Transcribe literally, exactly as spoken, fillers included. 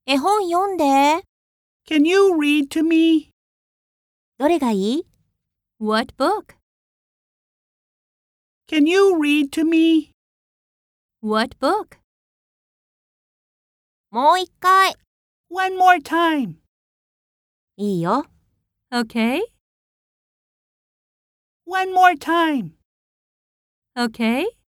絵本読んで。 Can you read to me? どれがいい？ What book? Can you read to me? What book? もう一回。 One more time. いいよ。 Okay? One more time. Okay?